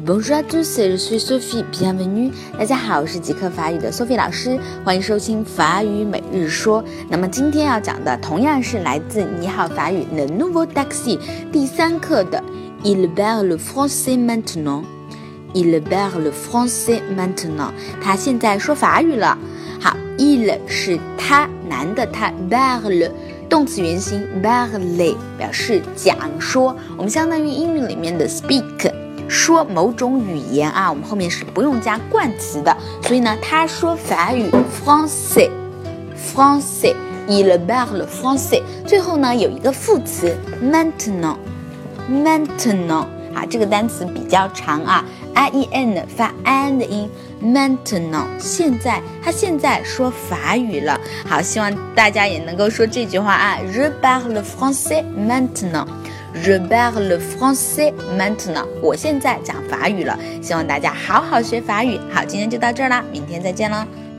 Bonjour à tous, je suis Sophie, bienvenue. 大家好，我是极客法语的 Sophie 老师，欢迎收听法语每日说。那么今天要讲的同样是来自你好法语 Le Nouveau Taxi 第3课的 Il parle le français maintenant。Il parle le français maintenant。他现在说法语了。好 ，il 是他，男的他 ，parle 动词原形 parler 表示讲说，我们相当于英语里面的 speak。说某种语言啊，我们后面是不用加冠词的，所以呢，他说法语 français， il parle français。最后呢，有一个副词 maintenant， 啊，这个单词比较长啊 ，i-e-n 发 an 的音 ，maintenant 现在，他现在说法语了。好，希望大家也能够说这句话啊 ，je parle français maintenant。Je parle français maintenant。我现在讲法语了，希望大家好好学法语。好，今天就到这儿啦，明天再见了。